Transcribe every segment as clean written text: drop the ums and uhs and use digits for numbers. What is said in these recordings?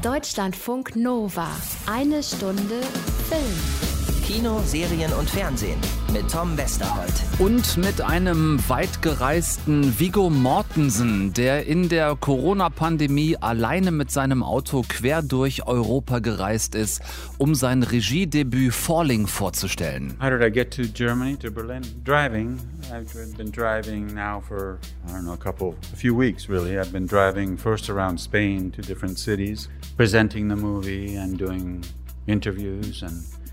Deutschlandfunk Nova. Eine Stunde Film. Kino, Serien und Fernsehen mit Tom Westerholt. Und mit einem weit gereisten Viggo Mortensen, der in der Corona-Pandemie alleine mit seinem Auto quer durch Europa gereist ist, um sein Regiedebüt Falling vorzustellen. How did I get to Germany, to Berlin? Driving. I've been driving now for, a few weeks really. I've been driving first around Spain to different cities, presenting the movie and doing interviews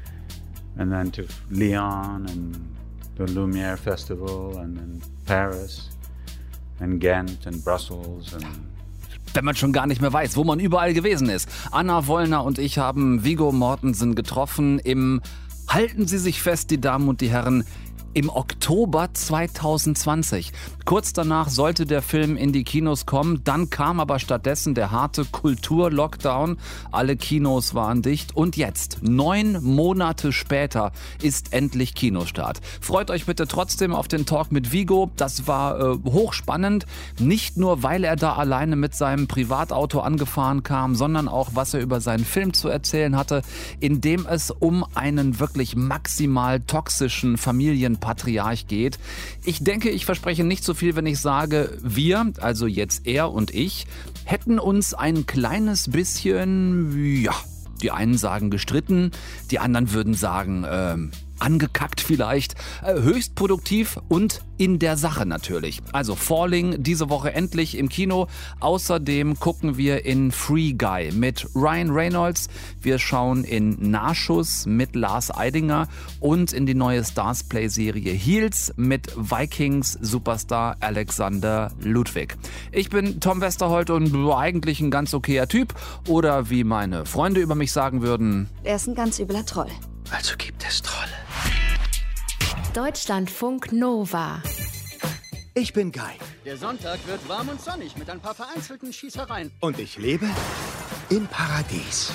and then to Lyon and the Lumière Festival and then Paris and Ghent and Brussels and wenn man schon gar nicht mehr weiß, wo man überall gewesen ist. Anna Wollner und ich haben Viggo Mortensen getroffen halten Sie sich fest, die Damen und die Herren, im Oktober 2020. Kurz danach sollte der Film in die Kinos kommen, dann kam aber stattdessen der harte Kultur-Lockdown. Alle Kinos waren dicht und jetzt, 9 Monate später, ist endlich Kinostart. Freut euch bitte trotzdem auf den Talk mit Viggo. Das war hochspannend, nicht nur, weil er da alleine mit seinem Privatauto angefahren kam, sondern auch, was er über seinen Film zu erzählen hatte, in dem es um einen wirklich maximal toxischen Familienpatriarch geht. Ich denke, ich verspreche nicht so viel, wenn ich sage, wir, also jetzt er und ich, hätten uns ein kleines bisschen, die einen sagen gestritten, die anderen würden sagen, angekackt vielleicht, höchst produktiv und in der Sache natürlich. Also Falling diese Woche endlich im Kino. Außerdem gucken wir in Free Guy mit Ryan Reynolds. Wir schauen in Nachschuss mit Lars Eidinger und in die neue Starzplay-Serie Heels mit Vikings-Superstar Alexander Ludwig. Ich bin Tom Westerholt und eigentlich ein ganz okayer Typ. Oder wie meine Freunde über mich sagen würden: Er ist ein ganz übler Troll. Also gibt es Trolle. Deutschlandfunk Nova. Ich bin Guy. Der Sonntag wird warm und sonnig mit ein paar vereinzelten Schießereien. Und ich lebe im Paradies.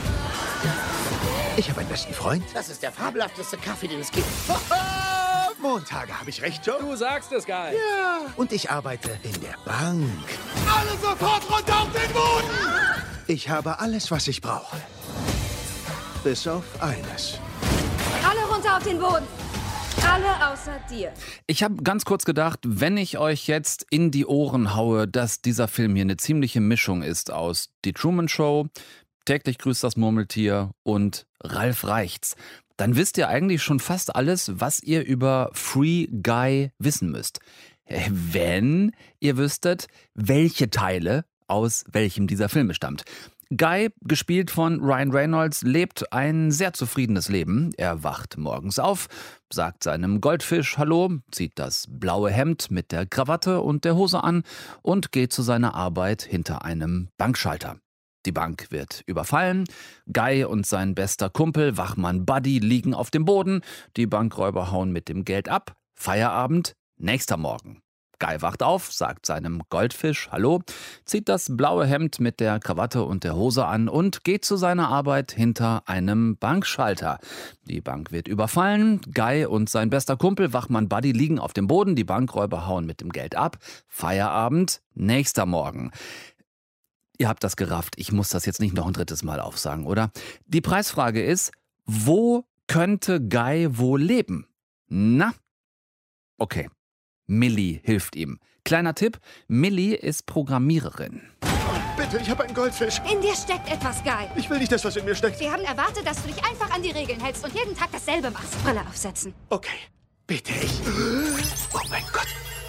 Ich habe einen besten Freund. Das ist der fabelhafteste Kaffee, den es gibt. Montage, habe ich recht, Joe? Du sagst es, Guy. Ja. Und ich arbeite in der Bank. Alle sofort runter auf den Boden! Ich habe alles, was ich brauche. Bis auf eines. Alle runter auf den Boden. Alle außer dir. Ich habe ganz kurz gedacht, wenn ich euch jetzt in die Ohren haue, dass dieser Film hier eine ziemliche Mischung ist aus Die Truman Show, Täglich grüßt das Murmeltier und Ralf Reichts, dann wisst ihr eigentlich schon fast alles, was ihr über Free Guy wissen müsst. Wenn ihr wüsstet, welche Teile aus welchem dieser Filme stammt. Guy, gespielt von Ryan Reynolds, lebt ein sehr zufriedenes Leben. Er wacht morgens auf, sagt seinem Goldfisch Hallo, zieht das blaue Hemd mit der Krawatte und der Hose an und geht zu seiner Arbeit hinter einem Bankschalter. Die Bank wird überfallen. Guy und sein bester Kumpel, Wachmann Buddy, liegen auf dem Boden. Die Bankräuber hauen mit dem Geld ab. Feierabend, nächster Morgen. Guy wacht auf, sagt seinem Goldfisch Hallo, zieht das blaue Hemd mit der Krawatte und der Hose an und geht zu seiner Arbeit hinter einem Bankschalter. Die Bank wird überfallen, Guy und sein bester Kumpel Wachmann Buddy liegen auf dem Boden, die Bankräuber hauen mit dem Geld ab. Feierabend, nächster Morgen. Ihr habt das gerafft, ich muss das jetzt nicht noch ein drittes Mal aufsagen, oder? Die Preisfrage ist, wo könnte Guy wohl leben? Na? Okay. Millie hilft ihm. Kleiner Tipp, Millie ist Programmiererin. Bitte, ich habe einen Goldfisch. In dir steckt etwas, Guy. Ich will nicht, dass was in mir steckt. Wir haben erwartet, dass du dich einfach an die Regeln hältst und jeden Tag dasselbe machst. Brille aufsetzen. Okay, bitte ich. Oh mein Gott.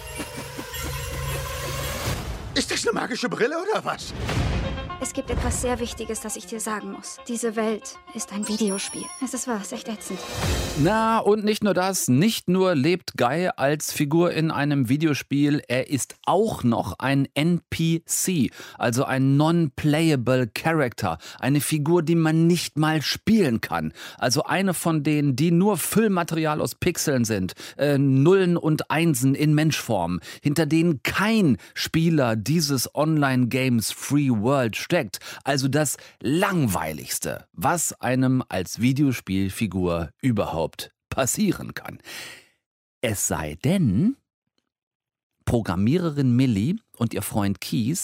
Ist das eine magische Brille oder was? Es gibt etwas sehr Wichtiges, das ich dir sagen muss. Diese Welt ist ein Videospiel. Es ist wahr, es ist echt ätzend. Na, und nicht nur das. Nicht nur lebt Guy als Figur in einem Videospiel, er ist auch noch ein NPC, also ein Non-Playable Character. Eine Figur, die man nicht mal spielen kann. Also eine von denen, die nur Füllmaterial aus Pixeln sind. Nullen und Einsen in Menschform. Hinter denen kein Spieler dieses Online-Games Free World steckt. Also das Langweiligste, was einem als Videospielfigur überhaupt passieren kann. Es sei denn, Programmiererin Millie und ihr Freund Keith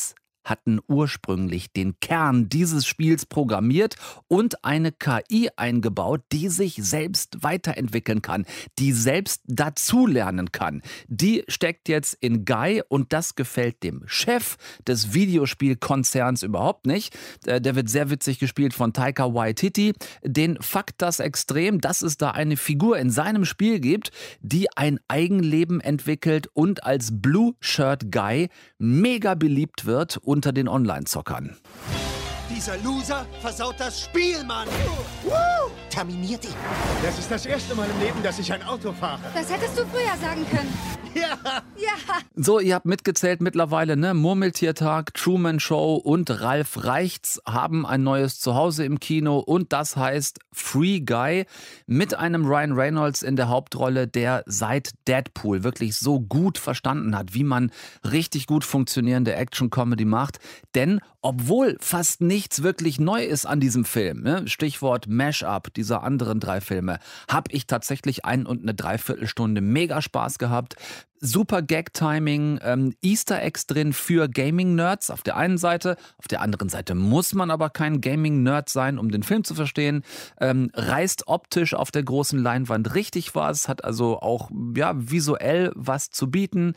hatten ursprünglich den Kern dieses Spiels programmiert und eine KI eingebaut, die sich selbst weiterentwickeln kann, die selbst dazulernen kann. Die steckt jetzt in Guy und das gefällt dem Chef des Videospielkonzerns überhaupt nicht. Der wird sehr witzig gespielt von Taika Waititi. Den fuckt das extrem, dass es da eine Figur in seinem Spiel gibt, die ein Eigenleben entwickelt und als Blue Shirt Guy mega beliebt wird unter den Online-Zockern. Dieser Loser versaut das Spiel, Mann! Terminiert ihn! Das ist das erste Mal im Leben, dass ich ein Auto fahre. Das hättest du früher sagen können. Ja! Ja! So, ihr habt mitgezählt mittlerweile, ne? Murmeltiertag, Truman Show und Ralf Reichts haben ein neues Zuhause im Kino und das heißt Free Guy mit einem Ryan Reynolds in der Hauptrolle, der seit Deadpool wirklich so gut verstanden hat, wie man richtig gut funktionierende Action-Comedy macht. Denn obwohl fast nichts wirklich neu ist an diesem Film, ne? Stichwort Mash-up dieser anderen 3 Filme, habe ich tatsächlich 1 und eine Dreiviertelstunde mega Spaß gehabt. Super Gag-Timing, Easter Eggs drin für Gaming-Nerds auf der einen Seite. Auf der anderen Seite muss man aber kein Gaming-Nerd sein, um den Film zu verstehen. Reißt optisch auf der großen Leinwand richtig was, hat also auch visuell was zu bieten.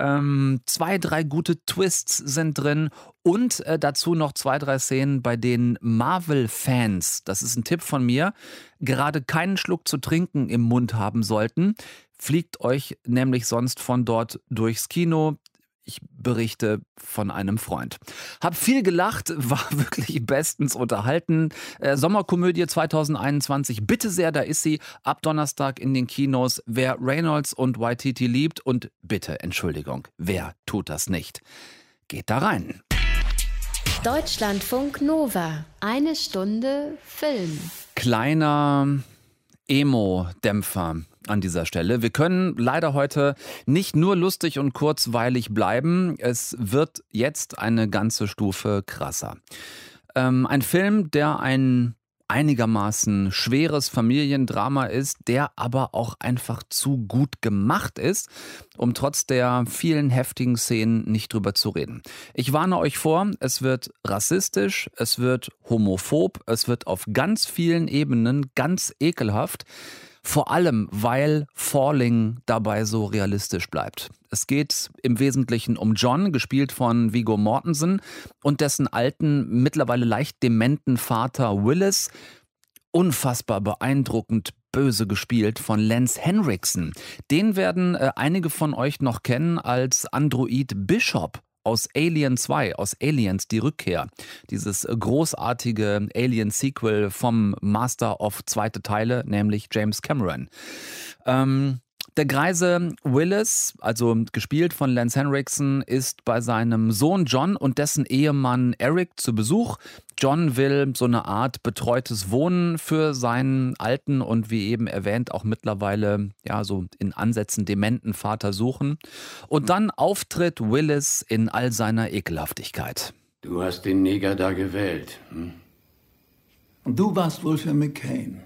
2, 3 gute Twists sind drin und dazu noch 2, 3 Szenen, bei denen Marvel-Fans, das ist ein Tipp von mir, gerade keinen Schluck zu trinken im Mund haben sollten. Fliegt euch nämlich sonst von dort durchs Kino. Ich berichte von einem Freund. Hab viel gelacht, war wirklich bestens unterhalten. Sommerkomödie 2021, bitte sehr, da ist sie. Ab Donnerstag in den Kinos. Wer Reynolds und Waititi liebt und bitte, Entschuldigung, wer tut das nicht? Geht da rein. Deutschlandfunk Nova. 1 Stunde Film. Kleiner Emo-Dämpfer an dieser Stelle. Wir können leider heute nicht nur lustig und kurzweilig bleiben. Es wird jetzt eine ganze Stufe krasser. Ein Film, der ein einigermaßen schweres Familiendrama ist, der aber auch einfach zu gut gemacht ist, um trotz der vielen heftigen Szenen nicht drüber zu reden. Ich warne euch vor, es wird rassistisch, es wird homophob, es wird auf ganz vielen Ebenen ganz ekelhaft. Vor allem, weil Falling dabei so realistisch bleibt. Es geht im Wesentlichen um John, gespielt von Viggo Mortensen, und dessen alten, mittlerweile leicht dementen Vater Willis. Unfassbar beeindruckend böse gespielt von Lance Henriksen. Den werden einige von euch noch kennen als Android Bishop aus Alien 2, aus Aliens, die Rückkehr. Dieses großartige Alien-Sequel vom Master of 2. Teile, nämlich James Cameron. Der greise Willis, also gespielt von Lance Henriksen, ist bei seinem Sohn John und dessen Ehemann Eric zu Besuch. John will so eine Art betreutes Wohnen für seinen alten und wie eben erwähnt auch mittlerweile so in Ansätzen dementen Vater suchen. Und dann auftritt Willis in all seiner Ekelhaftigkeit. Du hast den Neger da gewählt. Hm? Und du warst wohl für McCain.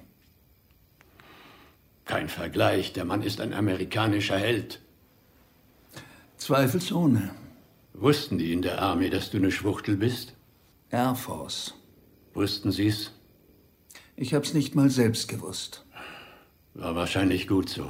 Kein Vergleich, der Mann ist ein amerikanischer Held. Zweifelsohne. Wussten die in der Armee, dass du eine Schwuchtel bist? Air Force. Wussten sie's? Ich hab's nicht mal selbst gewusst. War wahrscheinlich gut so.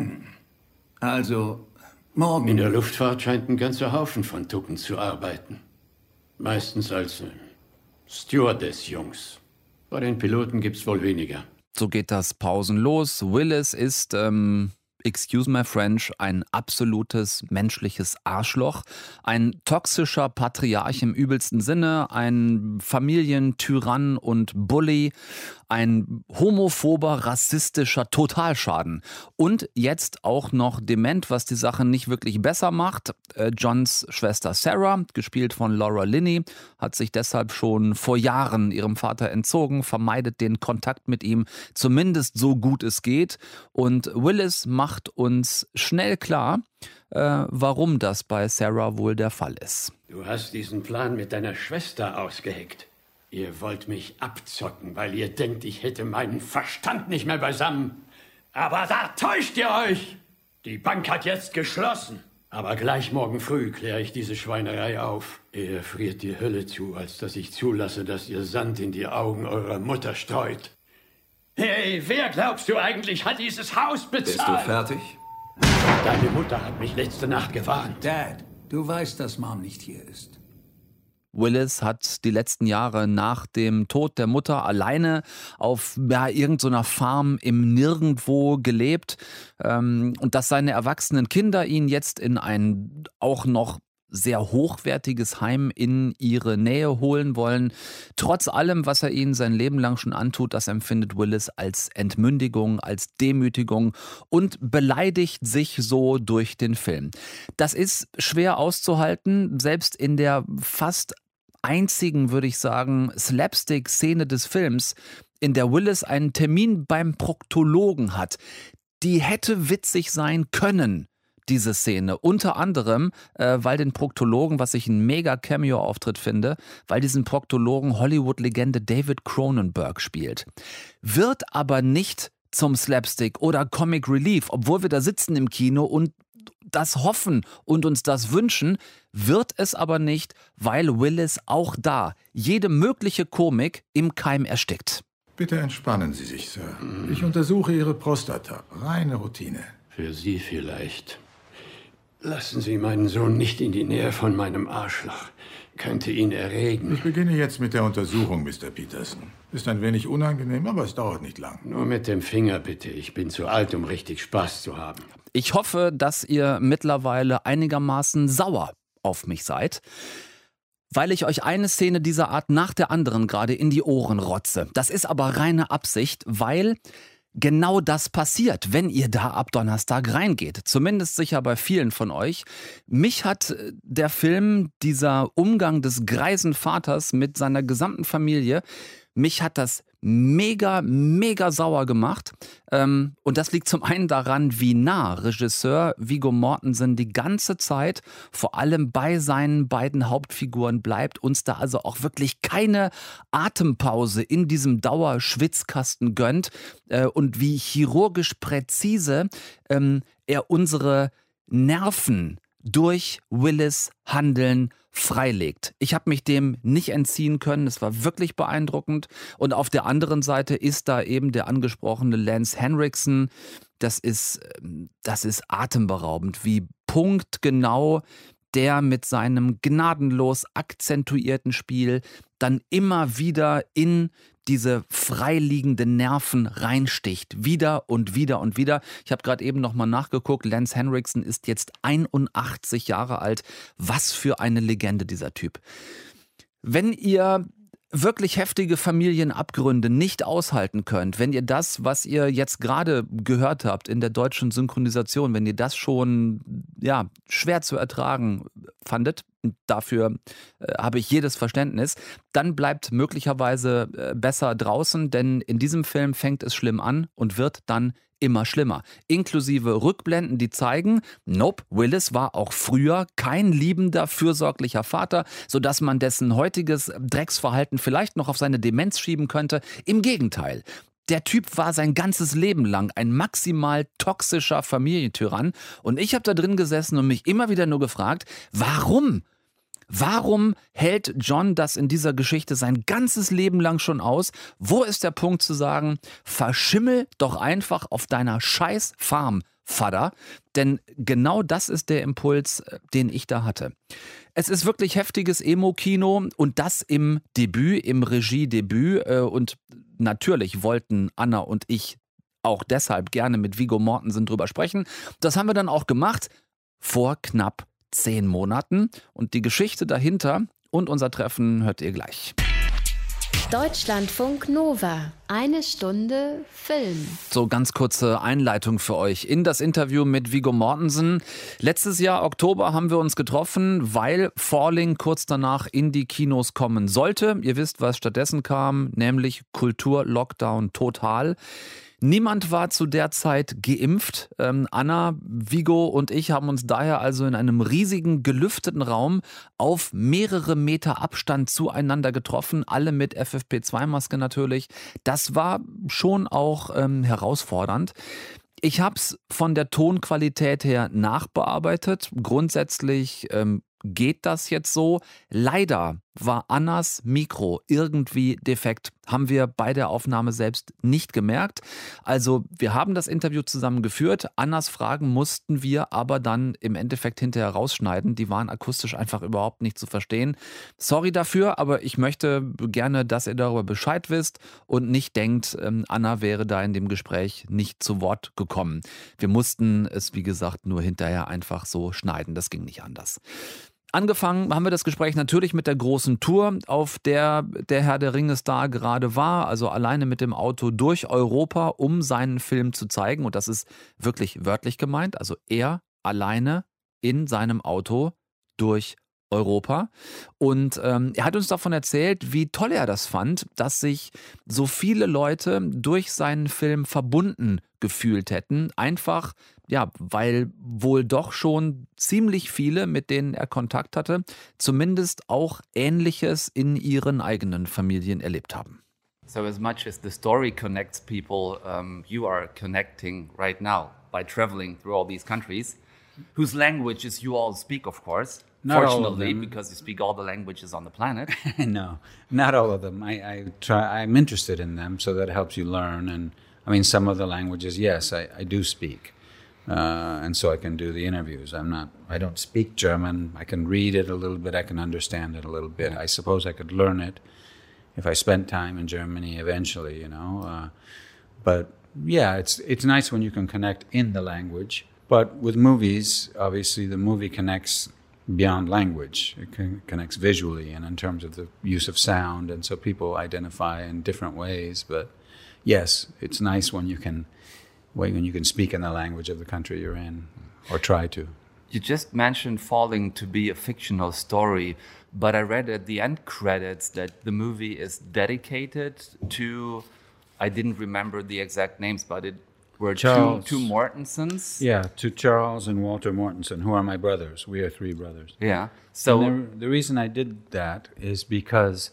Also, morgen... In der Luftfahrt scheint ein ganzer Haufen von Tucken zu arbeiten. Meistens als Stewardess-Jungs. Bei den Piloten gibt's wohl weniger. So geht das pausenlos. Willis ist, excuse my French, ein absolutes menschliches Arschloch. Ein toxischer Patriarch im übelsten Sinne, ein Familientyrann und Bully, ein homophober, rassistischer Totalschaden. Und jetzt auch noch dement, was die Sache nicht wirklich besser macht. Johns Schwester Sarah, gespielt von Laura Linney, hat sich deshalb schon vor Jahren ihrem Vater entzogen, vermeidet den Kontakt mit ihm, zumindest so gut es geht. Und Willis macht uns schnell klar, warum das bei Sarah wohl der Fall ist. Du hast diesen Plan mit deiner Schwester ausgeheckt. Ihr wollt mich abzocken, weil ihr denkt, ich hätte meinen Verstand nicht mehr beisammen. Aber da täuscht ihr euch! Die Bank hat jetzt geschlossen. Aber gleich morgen früh kläre ich diese Schweinerei auf. Eher friert die Hölle zu, als dass ich zulasse, dass ihr Sand in die Augen eurer Mutter streut. Hey, wer glaubst du eigentlich hat dieses Haus bezahlt? Bist du fertig? Deine Mutter hat mich letzte Nacht gewarnt. Dad, du weißt, dass Mom nicht hier ist. Willis hat die letzten Jahre nach dem Tod der Mutter alleine auf irgendeiner Farm im Nirgendwo gelebt. Und dass seine erwachsenen Kinder ihn jetzt in ein auch noch sehr hochwertiges Heim in ihre Nähe holen wollen. Trotz allem, was er ihnen sein Leben lang schon antut, das empfindet Willis als Entmündigung, als Demütigung und beleidigt sich so durch den Film. Das ist schwer auszuhalten, selbst in der fast einzigen, würde ich sagen, Slapstick-Szene des Films, in der Willis einen Termin beim Proktologen hat. Die hätte witzig sein können, diese Szene. Unter anderem, weil den Proktologen, was ich ein mega Cameo-Auftritt finde, weil diesen Proktologen Hollywood-Legende David Cronenberg spielt. Wird aber nicht zum Slapstick oder Comic Relief, obwohl wir da sitzen im Kino und das hoffen und uns das wünschen, wird es aber nicht, weil Willis auch da jede mögliche Komik im Keim erstickt. Bitte entspannen Sie sich, Sir. Ich untersuche Ihre Prostata. Reine Routine. Für Sie vielleicht. Lassen Sie meinen Sohn nicht in die Nähe von meinem Arschloch. Könnte ihn erregen. Ich beginne jetzt mit der Untersuchung, Mr. Peterson. Ist ein wenig unangenehm, aber es dauert nicht lang. Nur mit dem Finger, bitte. Ich bin zu alt, um richtig Spaß zu haben. Ich hoffe, dass ihr mittlerweile einigermaßen sauer auf mich seid, weil ich euch eine Szene dieser Art nach der anderen gerade in die Ohren rotze. Das ist aber reine Absicht, weil genau das passiert, wenn ihr da ab Donnerstag reingeht. Zumindest sicher bei vielen von euch. Mich hat der Film, dieser Umgang des greisen Vaters mit seiner gesamten Familie, mich hat das mega, mega sauer gemacht. Und das liegt zum einen daran, wie nah Regisseur Viggo Mortensen die ganze Zeit, vor allem bei seinen beiden Hauptfiguren bleibt, uns da also auch wirklich keine Atempause in diesem Dauerschwitzkasten gönnt und wie chirurgisch präzise er unsere Nerven durch Willis' Handeln freilegt. Ich habe mich dem nicht entziehen können. Es war wirklich beeindruckend. Und auf der anderen Seite ist da eben der angesprochene Lance Henriksen. Das ist atemberaubend, wie punktgenau der mit seinem gnadenlos akzentuierten Spiel dann immer wieder in diese freiliegenden Nerven reinsticht. Wieder und wieder und wieder. Ich habe gerade eben nochmal nachgeguckt. Lance Henriksen ist jetzt 81 Jahre alt. Was für eine Legende, dieser Typ. Wenn ihr wirklich heftige Familienabgründe nicht aushalten könnt, wenn ihr das, was ihr jetzt gerade gehört habt in der deutschen Synchronisation, wenn ihr das schon schwer zu ertragen fandet, dafür habe ich jedes Verständnis, dann bleibt möglicherweise besser draußen, denn in diesem Film fängt es schlimm an und wird dann immer schlimmer. Inklusive Rückblenden, die zeigen, nope, Willis war auch früher kein liebender, fürsorglicher Vater, sodass man dessen heutiges Drecksverhalten vielleicht noch auf seine Demenz schieben könnte. Im Gegenteil. Der Typ war sein ganzes Leben lang ein maximal toxischer Familientyrann und ich habe da drin gesessen und mich immer wieder nur gefragt, warum? Warum hält John das in dieser Geschichte sein ganzes Leben lang schon aus? Wo ist der Punkt zu sagen, verschimmel doch einfach auf deiner scheiß Farm, Vater? Denn genau das ist der Impuls, den ich da hatte. Es ist wirklich heftiges Emo-Kino und das im Debüt, im Regiedebüt. Und natürlich wollten Anna und ich auch deshalb gerne mit Viggo Mortensen drüber sprechen. Das haben wir dann auch gemacht vor knapp 10 Monaten und die Geschichte dahinter und unser Treffen hört ihr gleich. Deutschlandfunk Nova. 1 Stunde Film. So, ganz kurze Einleitung für euch in das Interview mit Viggo Mortensen. Letztes Jahr Oktober haben wir uns getroffen, weil Falling kurz danach in die Kinos kommen sollte. Ihr wisst, was stattdessen kam, nämlich Kultur-Lockdown total. Niemand war zu der Zeit geimpft. Anna, Viggo und ich haben uns daher also in einem riesigen, gelüfteten Raum auf mehrere Meter Abstand zueinander getroffen, alle mit FFP2-Maske natürlich. Das war schon auch herausfordernd. Ich habe es von der Tonqualität her nachbearbeitet. Grundsätzlich geht das jetzt so. Leider war Annas Mikro irgendwie defekt. Haben wir bei der Aufnahme selbst nicht gemerkt. Also wir haben das Interview zusammen geführt. Annas Fragen mussten wir aber dann im Endeffekt hinterher rausschneiden. Die waren akustisch einfach überhaupt nicht zu verstehen. Sorry dafür, aber ich möchte gerne, dass ihr darüber Bescheid wisst und nicht denkt, Anna wäre da in dem Gespräch nicht zu Wort gekommen. Wir mussten es, wie gesagt, nur hinterher einfach so schneiden. Das ging nicht anders. Angefangen haben wir das Gespräch natürlich mit der großen Tour, auf der der Herr der Ringe-Star gerade war, also alleine mit dem Auto durch Europa, um seinen Film zu zeigen. Und das ist wirklich wörtlich gemeint, also er alleine in seinem Auto durch Europa. Und er hat uns davon erzählt, wie toll er das fand, dass sich so viele Leute durch seinen Film verbunden gefühlt hätten. Einfach, ja, weil wohl doch schon ziemlich viele, mit denen er Kontakt hatte, zumindest auch Ähnliches in ihren eigenen Familien erlebt haben. So as much as the story connects people, you are connecting right now by traveling through all these countries, whose languages you all speak, of course. Not Fortunately, all of them. because you speak all the languages on the planet. No, not all of them. I'm interested in them, so that helps you learn. And I mean, some of the languages, yes, I do speak. And so I can do the interviews. I don't speak German. I can read it a little bit. I can understand it a little bit. I suppose I could learn it if I spent time in Germany eventually, you know. But yeah, it's nice when you can connect in the language. But with movies, obviously the movie connects beyond language. It connects visually and in terms of the use of sound. And so people identify in different ways. But yes, it's nice when you can speak in the language of the country you're in, or try to. You just mentioned Falling to be a fictional story, but I read at the end credits that the movie is dedicated to, I didn't remember the exact names, but it were two Mortensons. Yeah, to Charles and Walter Mortensen, who are my brothers. We are three brothers. Yeah. So the reason I did that is because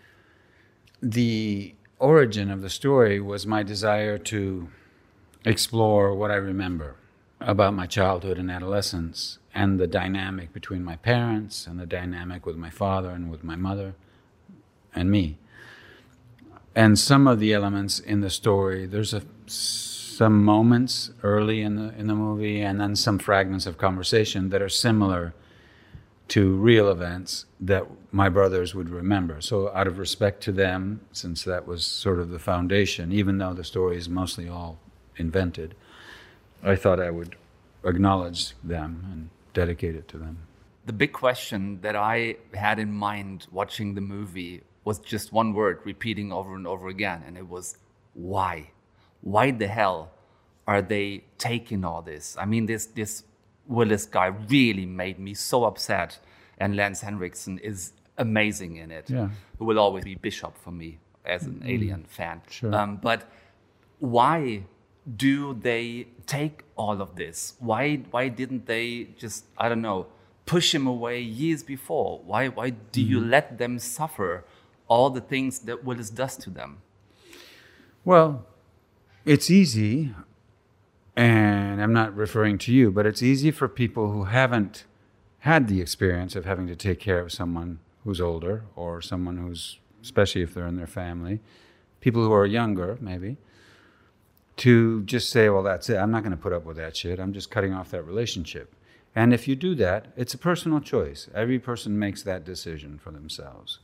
the origin of the story was my desire to explore what I remember about my childhood and adolescence and the dynamic between my parents and the dynamic with my father and with my mother and me. And some of the elements in the story, there's some moments early in the movie and then some fragments of conversation that are similar to real events that my brothers would remember. So out of respect to them, since that was sort of the foundation, even though the story is mostly all invented, I thought I would acknowledge them and dedicate it to them. The big question that I had in mind watching the movie was just one word repeating over and over again, and it was why? Why the hell are they taking all this? I mean, this Willis guy really made me so upset, and Lance Henriksen is amazing in it. Yeah. Who will always be Bishop for me as an Alien fan. Sure. But why do they take all of this? Why didn't they just, I don't know, push him away years before? Why do you let them suffer all the things that Willis does to them? Well, it's easy, and I'm not referring to you, but it's easy for people who haven't had the experience of having to take care of someone who's older or someone who's, especially if they're in their family, people who are younger maybe, to just say, well, that's it. I'm not going to put up with that shit. I'm just cutting off that relationship. And if you do that, it's a personal choice. Every person makes that decision for themselves.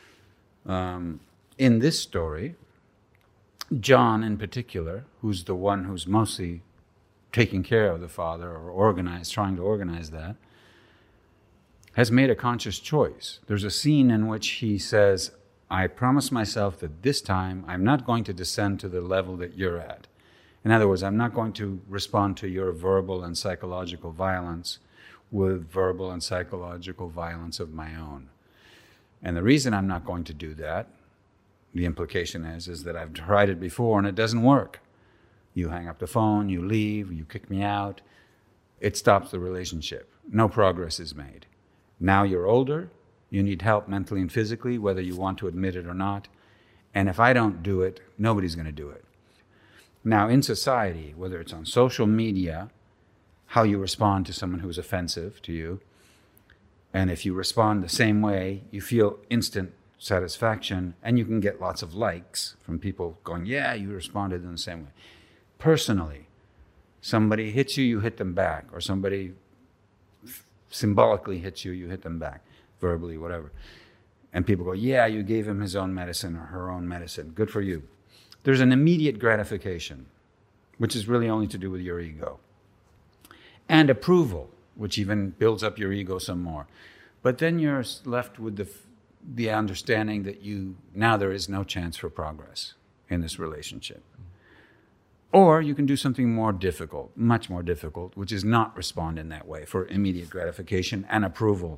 In this story, John in particular, who's the one who's mostly taking care of the father or trying to organize that, has made a conscious choice. There's a scene in which he says, I promise myself that this time I'm not going to descend to the level that you're at. In other words, I'm not going to respond to your verbal and psychological violence with verbal and psychological violence of my own. And the reason I'm not going to do that, the implication is that I've tried it before and it doesn't work. You hang up the phone, you leave, you kick me out. It stops the relationship. No progress is made. Now you're older, you need help mentally and physically, whether you want to admit it or not. And if I don't do it, nobody's going to do it. Now, in society, whether it's on social media, how you respond to someone who's offensive to you, and if you respond the same way, you feel instant satisfaction, and you can get lots of likes from people going, yeah, you responded in the same way. Personally, somebody hits you, you hit them back, or somebody symbolically hits you, you hit them back, verbally, whatever. And people go, yeah, you gave him his own medicine or her own medicine. Good for you. There's an immediate gratification, which is really only to do with your ego. And approval, which even builds up your ego some more. But then you're left with the understanding that now there is no chance for progress in this relationship. Or you can do something more difficult, much more difficult, which is not respond in that way for immediate gratification and approval.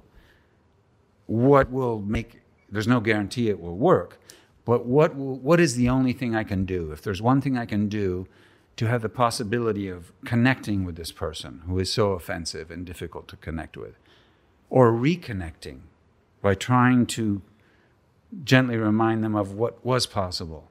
There's no guarantee it will work, but what is the only thing I can do? If there's one thing I can do to have the possibility of connecting with this person who is so offensive and difficult to connect with, or reconnecting by trying to gently remind them of what was possible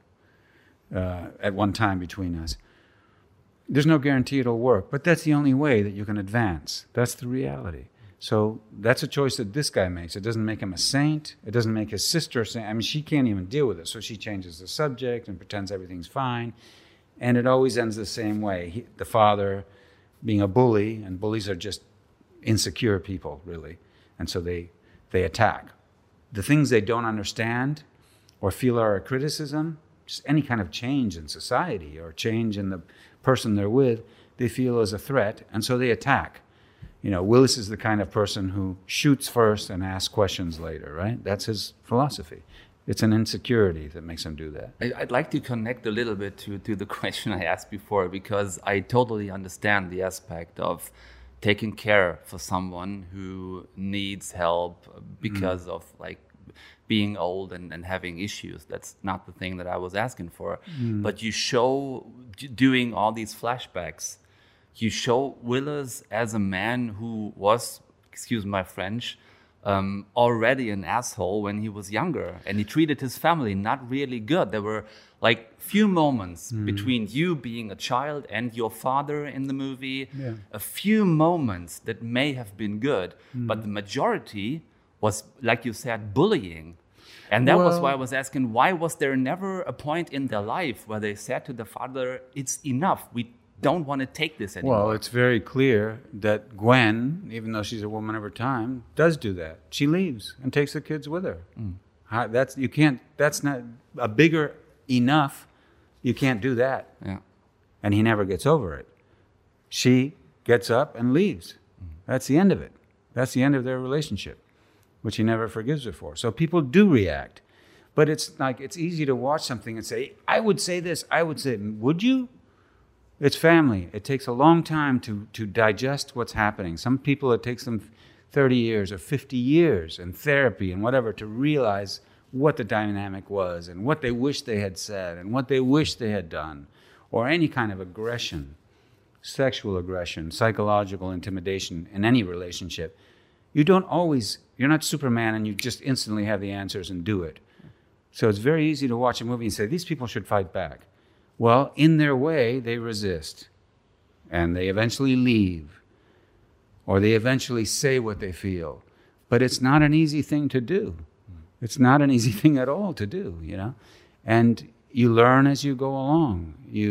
at one time between us. There's no guarantee it'll work, but that's the only way that you can advance. That's the reality. So that's a choice that this guy makes. It doesn't make him a saint. It doesn't make his sister a saint. I mean, she can't even deal with it, so she changes the subject and pretends everything's fine. And it always ends the same way. The father being a bully, and bullies are just insecure people, really. And so they attack. The things they don't understand or feel are a criticism, just any kind of change in society or change in the person they're with, they feel as a threat, and so they attack. Willis is the kind of person who shoots first and asks questions later, right? That's his philosophy. It's an insecurity that makes him do that. I'd like to connect a little bit to the question I asked before, because I totally understand the aspect of taking care for someone who needs help because of being old and having issues. That's not the thing that I was asking for. But you show, doing all these flashbacks, you show Willis as a man who was, excuse my French, already an asshole when he was younger, and he treated his family not really good. There were few moments between you being a child and your father in the movie, a few moments that may have been good, but the majority was, like you said, bullying. And that was why I was asking, why was there never a point in their life where they said to the father, it's enough, we don't want to take this anymore? Well, it's very clear that Gwen, even though she's a woman of her time, does do that. She leaves and takes the kids with her. That's not a bigger enough. You can't do that. Yeah. And he never gets over it. She gets up and leaves. That's the end of it. That's the end of their relationship, which he never forgives her for. So people do react. But it's easy to watch something and say, I would say this, I would say, would you? It's family. It takes a long time to digest what's happening. Some people, it takes them 30 years or 50 years in therapy and whatever to realize what the dynamic was and what they wish they had said and what they wish they had done, or any kind of aggression, sexual aggression, psychological intimidation in any relationship. You're not Superman and you just instantly have the answers and do it. So it's very easy to watch a movie and say, these people should fight back. Well, in their way, they resist. And they eventually leave. Or they eventually say what they feel. But it's not an easy thing to do. It's not an easy thing at all to do, And you learn as you go along.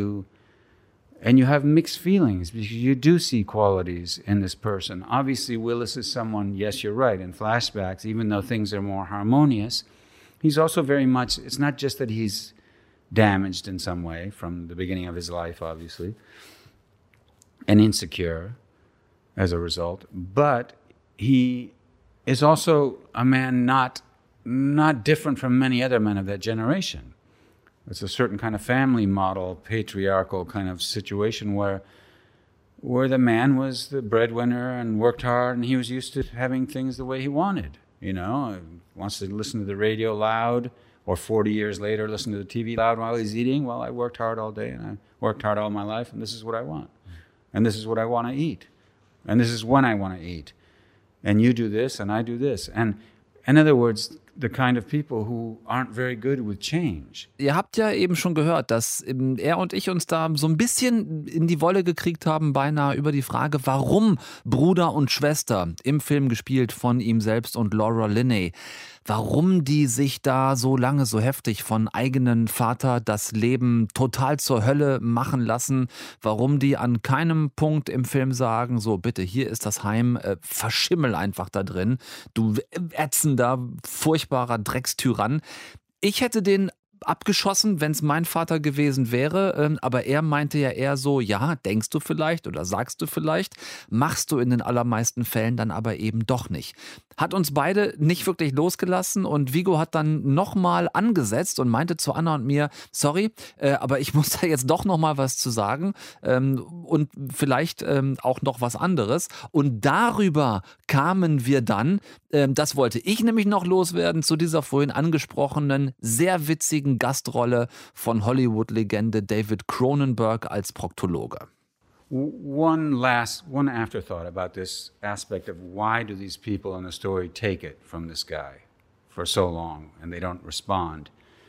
And you have mixed feelings because you do see qualities in this person. Obviously, Willis is someone, yes, you're right, in flashbacks, even though things are more harmonious, he's also very much, it's not just that he's damaged in some way from the beginning of his life, obviously, and insecure as a result, but he is also a man not different from many other men of that generation. It's a certain kind of family model, patriarchal kind of situation where the man was the breadwinner and worked hard, and he was used to having things the way he wanted. Wants to listen to the radio loud, or 40 years later, listen to the TV loud while he's eating. Well, I worked hard all day, and I worked hard all my life, and this is what I want. And this is what I want to eat. And this is when I want to eat. And you do this, and I do this. And in other words, the kind of people who aren't very good with change. Ihr habt ja eben schon gehört, dass er und ich uns da so ein bisschen in die Wolle gekriegt haben, beinahe über die Frage, warum Bruder und Schwester, im Film gespielt von ihm selbst und Laura Linney, warum die sich da so lange so heftig von eigenen Vater das Leben total zur Hölle machen lassen, warum die an keinem Punkt im Film sagen, so bitte, hier ist das Heim, verschimmel einfach da drin, du ätzender, furchtbarer Dreckstyrann. Ich hätte den abgeschossen, wenn es mein Vater gewesen wäre, aber er meinte ja eher so, ja, denkst du vielleicht oder sagst du vielleicht, machst du in den allermeisten Fällen dann aber eben doch nicht. Hat uns beide nicht wirklich losgelassen und Viggo hat dann nochmal angesetzt und meinte zu Anna und mir, sorry, aber ich muss da jetzt doch nochmal was zu sagen und vielleicht auch noch was anderes. Und darüber kamen wir dann, das wollte ich nämlich noch loswerden, zu dieser vorhin angesprochenen, sehr witzigen Gastrolle von Hollywood-Legende David Cronenberg als Proktologe. One afterthought about this aspect of why do these people in the story take it from this guy for so long and they don't respond,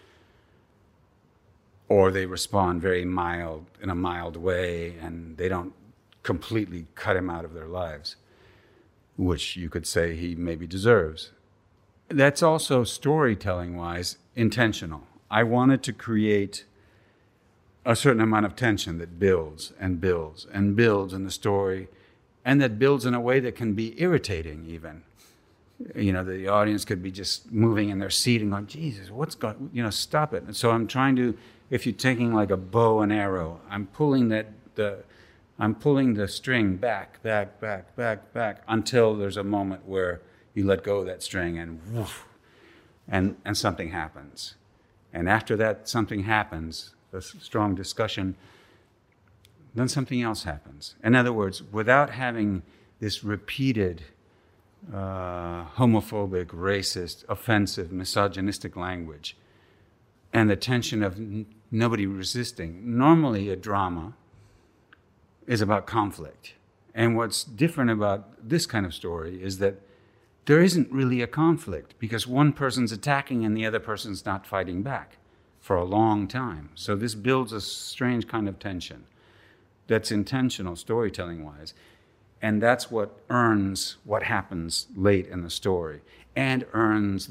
or they respond very mild, in a mild way, and they don't completely cut him out of their lives, which you could say he maybe deserves. That's also storytelling-wise intentional. I wanted to create a certain amount of tension that builds and builds and builds in the story, and that builds in a way that can be irritating even. You know, the audience could be just moving in their seat and going, Jesus, what's going, you know, stop it. And so I'm trying to, if you're taking like a bow and arrow, I'm pulling the string back until there's a moment where you let go of that string and woof, and something happens. And after that something happens, a strong discussion, then something else happens. In other words, without having this repeated homophobic, racist, offensive, misogynistic language, and the tension of nobody resisting. Normally a drama is about conflict. And what's different about this kind of story is that there isn't really a conflict because one person's attacking and the other person's not fighting back for a long time. So this builds a strange kind of tension that's intentional storytelling-wise. And that's what earns what happens late in the story and earns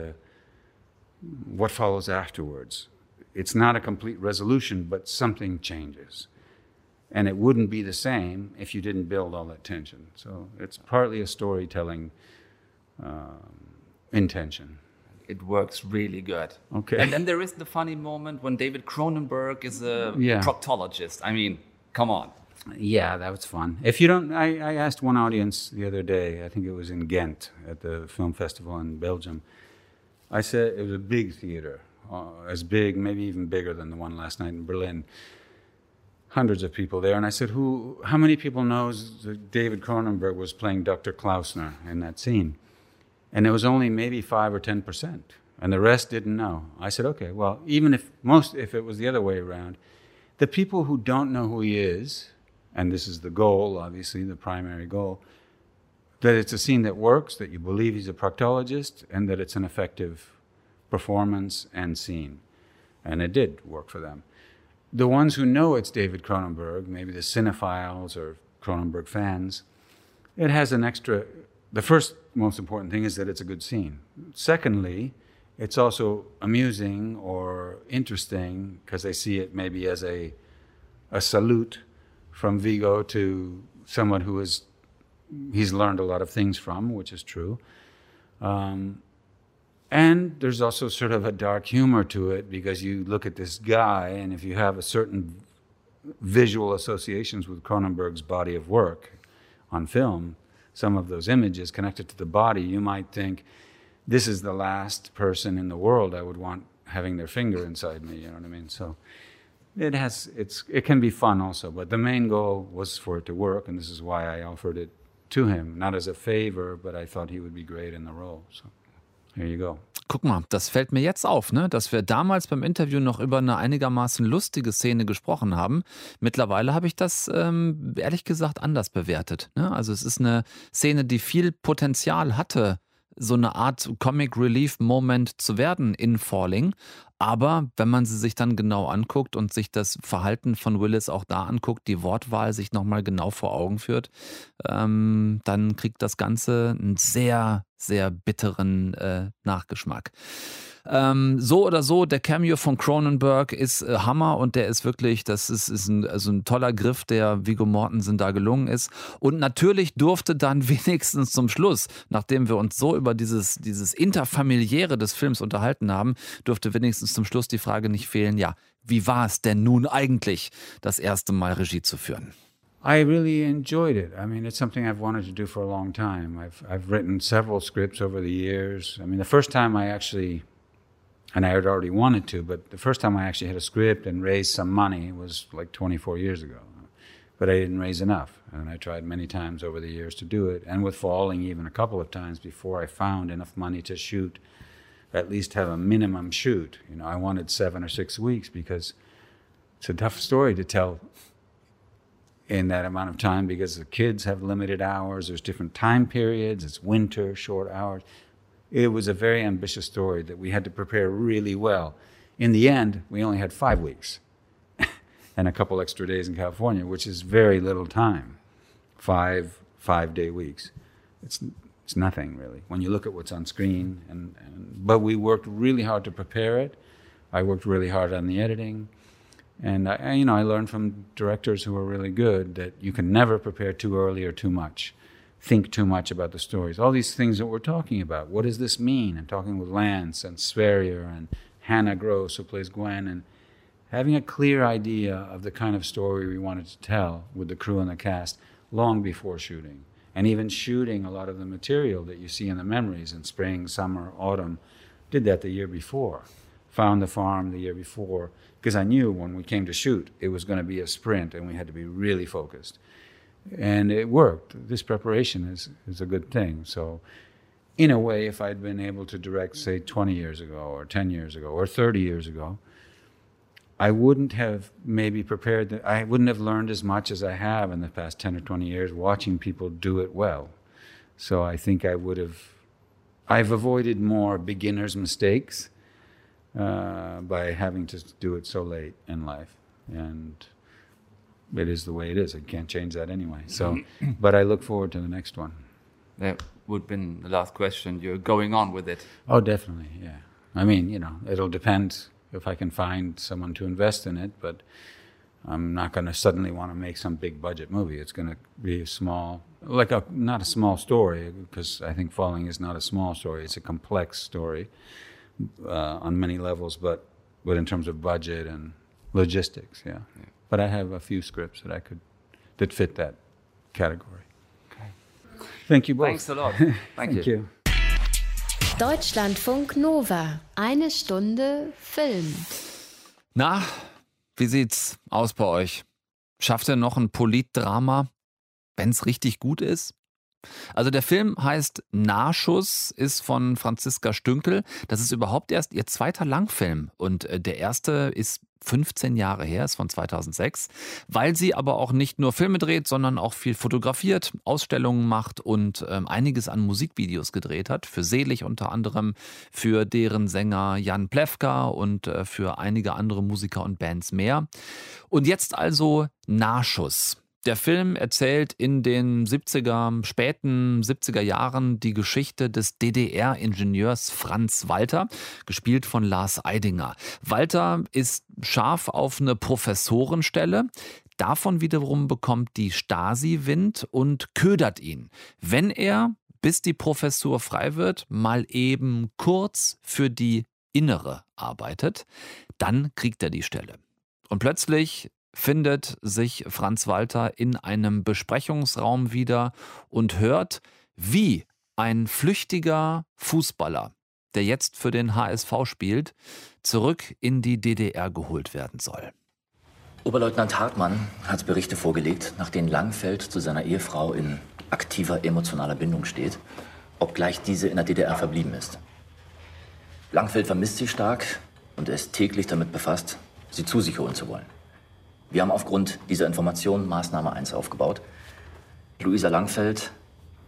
what follows afterwards. It's not a complete resolution, but something changes. And it wouldn't be the same if you didn't build all that tension. So it's partly a storytelling intention. It works really good. Okay. And then there is the funny moment when David Cronenberg is a proctologist. I mean, come on. Yeah, that was fun. If you don't, I asked one audience the other day, I think it was in Ghent at the film festival in Belgium. I said, it was a big theater, as big, maybe even bigger than the one last night in Berlin. Hundreds of people there. And I said, how many people knows that David Cronenberg was playing Dr. Klausner in that scene? And it was only maybe 5 or 10%. And the rest didn't know. I said, okay, well, even if it was the other way around, the people who don't know who he is, and this is the goal, obviously, the primary goal, that it's a scene that works, that you believe he's a proctologist, and that it's an effective performance and scene. And it did work for them. The ones who know it's David Cronenberg, maybe the cinephiles or Cronenberg fans, it has an extra... The first most important thing is that it's a good scene. Secondly, it's also amusing or interesting because they see it maybe as a salute from Viggo to someone who he's learned a lot of things from, which is true. And there's also sort of a dark humor to it because you look at this guy, and if you have a certain visual associations with Cronenberg's body of work on film, some of those images connected to the body, you might think, this is the last person in the world I would want having their finger inside me, you know what I mean? So it can be fun also, but the main goal was for it to work, and this is why I offered it to him, not as a favor, but I thought he would be great in the role. So here you go. Guck mal, das fällt mir jetzt auf, ne? Dass wir damals beim Interview noch über eine einigermaßen lustige Szene gesprochen haben. Mittlerweile habe ich das ehrlich gesagt anders bewertet, ne? Also es ist eine Szene, die viel Potenzial hatte, so eine Art Comic-Relief-Moment zu werden in Falling. Aber wenn man sie sich dann genau anguckt und sich das Verhalten von Willis auch da anguckt, die Wortwahl sich nochmal genau vor Augen führt, dann kriegt das Ganze einen sehr, sehr bitteren Nachgeschmack. So oder so, der Cameo von Cronenberg ist Hammer und der ist wirklich, das ist ein toller Griff, der Viggo Mortensen da gelungen ist. Und natürlich durfte dann wenigstens zum Schluss, nachdem wir uns so über dieses Interfamiliäre des Films unterhalten haben, durfte wenigstens zum Schluss die Frage nicht fehlen, ja, wie war es denn nun eigentlich, das erste Mal Regie zu führen? I really enjoyed it. I mean, it's something I've wanted to do for a long time. I've written several scripts over the years. I mean, the first time I actually, and I had already wanted to, but the first time I actually had a script and raised some money was like 24 years ago. But I didn't raise enough, and I tried many times over the years to do it, and with Falling even a couple of times before I found enough money to shoot, at least have a minimum shoot. You know, I wanted 7 or 6 weeks because it's a tough story to tell in that amount of time because the kids have limited hours, there's different time periods, it's winter, short hours. It was a very ambitious story that we had to prepare really well. In the end, we only had 5 weeks and a couple extra days in California, which is very little time. 5 5-day weeks. It's nothing really when you look at what's on screen. But we worked really hard to prepare it. I worked really hard on the editing. And I learned from directors who are really good that you can never prepare too early or too much, think too much about the stories. All these things that we're talking about. What does this mean? I'm talking with Lance and Sverrir and Hannah Gross, who plays Gwen, and having a clear idea of the kind of story we wanted to tell with the crew and the cast long before shooting. And even shooting a lot of the material that you see in the memories in spring, summer, autumn. Did that the year before. Found the farm the year before. Because I knew when we came to shoot, it was going to be a sprint and we had to be really focused. And it worked. This preparation is a good thing. So in a way, if I'd been able to direct, say, 20 years ago or 10 years ago or 30 years ago, I wouldn't have maybe prepared, I wouldn't have learned as much as I have in the past 10 or 20 years watching people do it well. So I think I've avoided more beginner's mistakes by having to do it so late in life. And it is the way it is. I can't change that anyway. So, but I look forward to the next one. That would have been the last question. You're going on with it. Oh, definitely, yeah. I mean, it'll depend if I can find someone to invest in it, but I'm not going to suddenly want to make some big budget movie. It's going to be not a small story, because I think Falling is not a small story. It's a complex story. On many levels, but in terms of budget and logistics, yeah. But I have a few scripts that fit that category. Okay. Thank you both. Thanks a lot. Thank you. Deutschlandfunk Nova. 1 Stunde Film. Na, wie sieht's aus bei euch? Schafft ihr noch ein Politdrama, wenn's richtig gut ist? Also der Film heißt Nahschuss, ist von Franziska Stünkel. Das ist überhaupt erst ihr 2. Langfilm und der erste ist 15 Jahre her, ist von 2006, weil sie aber auch nicht nur Filme dreht, sondern auch viel fotografiert, Ausstellungen macht und einiges an Musikvideos gedreht hat, für Selig unter anderem, für deren Sänger Jan Plewka und für einige andere Musiker und Bands mehr. Und jetzt also Nahschuss. Der Film erzählt in den späten 70er Jahren die Geschichte des DDR-Ingenieurs Franz Walter, gespielt von Lars Eidinger. Walter ist scharf auf eine Professorenstelle. Davon wiederum bekommt die Stasi Wind und ködert ihn, wenn er, bis die Professur frei wird, mal eben kurz für die Innere arbeitet. Dann kriegt er die Stelle. Und plötzlich findet sich Franz Walter in einem Besprechungsraum wieder und hört, wie ein flüchtiger Fußballer, der jetzt für den HSV spielt, zurück in die DDR geholt werden soll. Oberleutnant Hartmann hat Berichte vorgelegt, nach denen Langfeld zu seiner Ehefrau in aktiver emotionaler Bindung steht, obgleich diese in der DDR verblieben ist. Langfeld vermisst sie stark und er ist täglich damit befasst, sie zu sich holen zu wollen. Wir haben aufgrund dieser Informationen Maßnahme 1 aufgebaut. Luisa Langfeld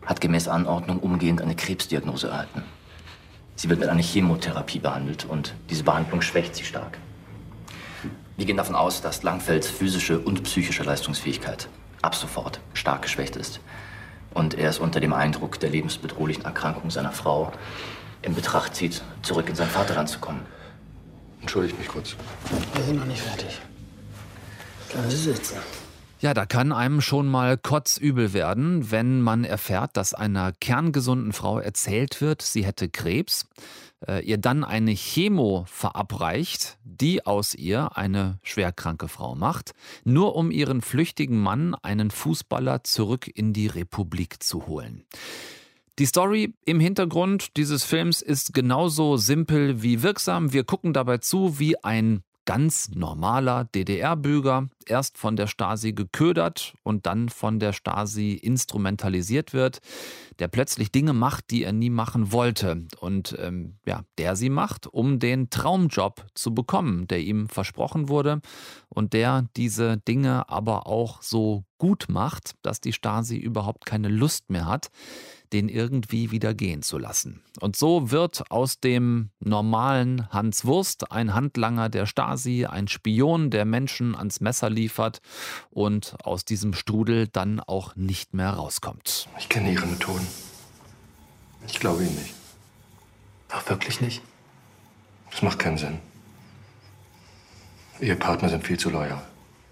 hat gemäß Anordnung umgehend eine Krebsdiagnose erhalten. Sie wird mit einer Chemotherapie behandelt und diese Behandlung schwächt sie stark. Wir gehen davon aus, dass Langfelds physische und psychische Leistungsfähigkeit ab sofort stark geschwächt ist. Und er ist unter dem Eindruck der lebensbedrohlichen Erkrankung seiner Frau in Betracht zieht, zurück in sein Vaterland zu kommen. Entschuldigt mich kurz. Wir sind noch nicht fertig. Bleiben Sie sitzen. Ja, da kann einem schon mal kotzübel werden, wenn man erfährt, dass einer kerngesunden Frau erzählt wird, sie hätte Krebs, ihr dann eine Chemo verabreicht, die aus ihr eine schwerkranke Frau macht, nur um ihren flüchtigen Mann, einen Fußballer, zurück in die Republik zu holen. Die Story im Hintergrund dieses Films ist genauso simpel wie wirksam. Wir gucken dabei zu, wie ein ganz normaler DDR-Bürger erst von der Stasi geködert und dann von der Stasi instrumentalisiert wird, der plötzlich Dinge macht, die er nie machen wollte und der sie macht, um den Traumjob zu bekommen, der ihm versprochen wurde und der diese Dinge aber auch so gut macht, dass die Stasi überhaupt keine Lust mehr hat, den irgendwie wieder gehen zu lassen. Und so wird aus dem normalen Hans Wurst ein Handlanger der Stasi, ein Spion, der Menschen ans Messer liefert und aus diesem Strudel dann auch nicht mehr rauskommt. Ich kenne Ihre Methoden. Ich glaube Ihnen nicht. Ach, wirklich nicht? Das macht keinen Sinn. Ehepartner sind viel zu loyal.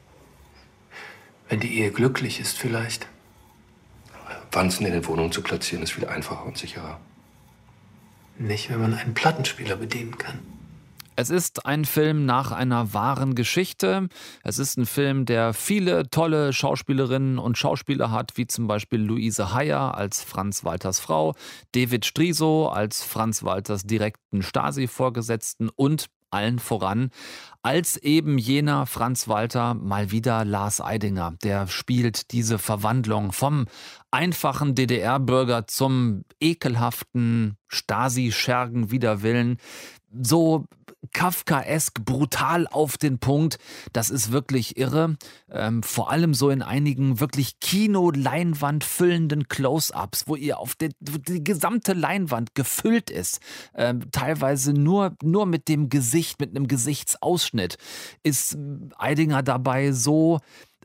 Wenn die Ehe glücklich ist, vielleicht. Wanzen in den Wohnungen zu platzieren, ist viel einfacher und sicherer. Nicht, wenn man einen Plattenspieler bedienen kann. Es ist ein Film nach einer wahren Geschichte. Es ist ein Film, der viele tolle Schauspielerinnen und Schauspieler hat, wie zum Beispiel Luise Heyer als Franz Walters Frau, David Striso als Franz Walters direkten Stasi-Vorgesetzten und allen voran als eben jener Franz Walter mal wieder Lars Eidinger. Der spielt diese Verwandlung vom einfachen DDR-Bürger zum ekelhaften Stasi-Schergen wider Willen. So kafkaesk, brutal auf den Punkt. Das ist wirklich irre. Vor allem so in einigen wirklich Kino-Leinwand füllenden Close-Ups, wo ihr die gesamte Leinwand gefüllt ist. Teilweise nur mit dem Gesicht, mit einem Gesichtsausschnitt, ist Eidinger dabei so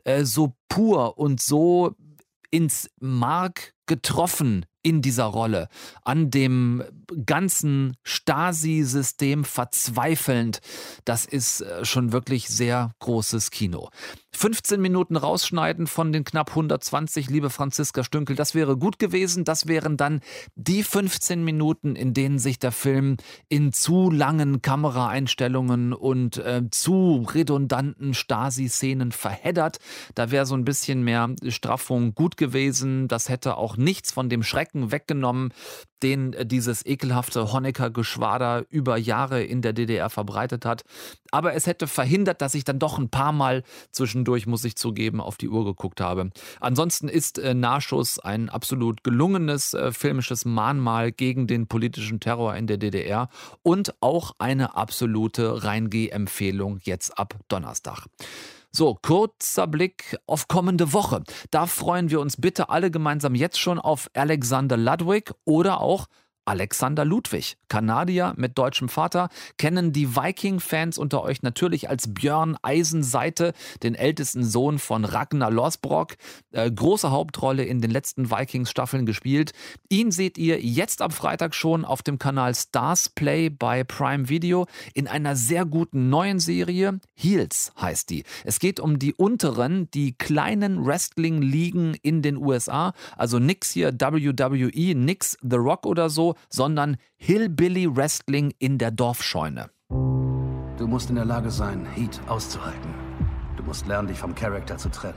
pur und so ins Mark getroffen in dieser Rolle, an dem ganzen Stasi-System verzweifelnd. Das ist schon wirklich sehr großes Kino. 15 Minuten rausschneiden von den knapp 120, liebe Franziska Stünkel, das wäre gut gewesen. Das wären dann die 15 Minuten, in denen sich der Film in zu langen Kameraeinstellungen und zu redundanten Stasi-Szenen verheddert. Da wäre so ein bisschen mehr Straffung gut gewesen. Das hätte auch nichts von dem Schrecken weggenommen, den dieses ekelhafte Honecker-Geschwader über Jahre in der DDR verbreitet hat. Aber es hätte verhindert, dass ich dann doch ein paar Mal zwischendurch, muss ich zugeben, auf die Uhr geguckt habe. Ansonsten ist Nahschuss ein absolut gelungenes filmisches Mahnmal gegen den politischen Terror in der DDR und auch eine absolute Reingeh-Empfehlung jetzt ab Donnerstag. So, kurzer Blick auf kommende Woche. Da freuen wir uns bitte alle gemeinsam jetzt schon auf Alexander Ludwig oder auch Alexander Ludwig, Kanadier mit deutschem Vater, kennen die Viking-Fans unter euch natürlich als Björn Eisenseite, den ältesten Sohn von Ragnar Lothbrok, große Hauptrolle in den letzten Vikings-Staffeln gespielt. Ihn seht ihr jetzt am Freitag schon auf dem Kanal Stars Play bei Prime Video in einer sehr guten neuen Serie. Heels heißt die. Es geht um die unteren, die kleinen Wrestling-Ligen in den USA, also nix hier WWE, nix The Rock oder so, sondern Hillbilly Wrestling in der Dorfscheune. Du musst in der Lage sein, Heat auszuhalten. Du musst lernen, dich vom Charakter zu trennen.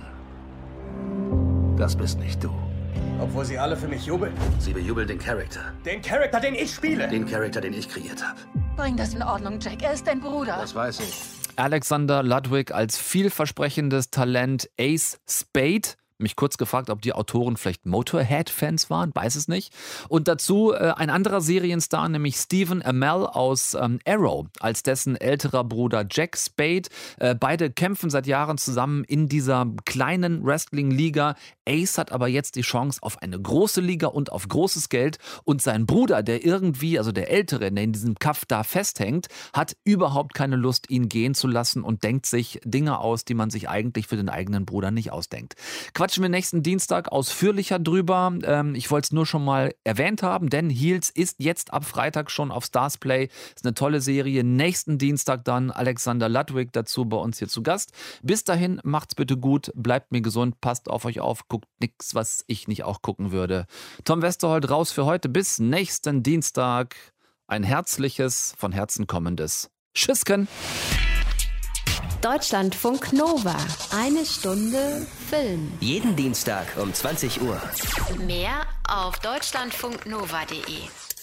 Das bist nicht du. Obwohl sie alle für mich jubeln. Sie bejubeln den Charakter. Den Charakter, den ich spiele. Den Charakter, den ich kreiert habe. Bring das in Ordnung, Jack. Er ist dein Bruder. Das weiß ich. Alexander Ludwig als vielversprechendes Talent, Ace Spade Mich kurz gefragt, ob die Autoren vielleicht Motorhead-Fans waren, weiß es nicht. Und dazu ein anderer Serienstar, nämlich Stephen Amell aus Arrow, als dessen älterer Bruder Jack Spade. Beide kämpfen seit Jahren zusammen in dieser kleinen Wrestling-Liga. Ace hat aber jetzt die Chance auf eine große Liga und auf großes Geld. Und sein Bruder, der irgendwie, also der Ältere, der in diesem Kaff da festhängt, hat überhaupt keine Lust, ihn gehen zu lassen und denkt sich Dinge aus, die man sich eigentlich für den eigenen Bruder nicht ausdenkt. Quatschen wir nächsten Dienstag ausführlicher drüber. Ich wollte es nur schon mal erwähnt haben, denn Heels ist jetzt ab Freitag schon auf Starzplay. Ist eine tolle Serie. Nächsten Dienstag dann Alexander Ludwig dazu bei uns hier zu Gast. Bis dahin, macht's bitte gut, bleibt mir gesund, passt auf euch auf, guckt nichts, was ich nicht auch gucken würde. Tom Westerholt raus für heute. Bis nächsten Dienstag. Ein herzliches, von Herzen kommendes Tschüssken. Deutschlandfunk Nova. Eine Stunde Film. Jeden Dienstag um 20 Uhr. Mehr auf deutschlandfunknova.de.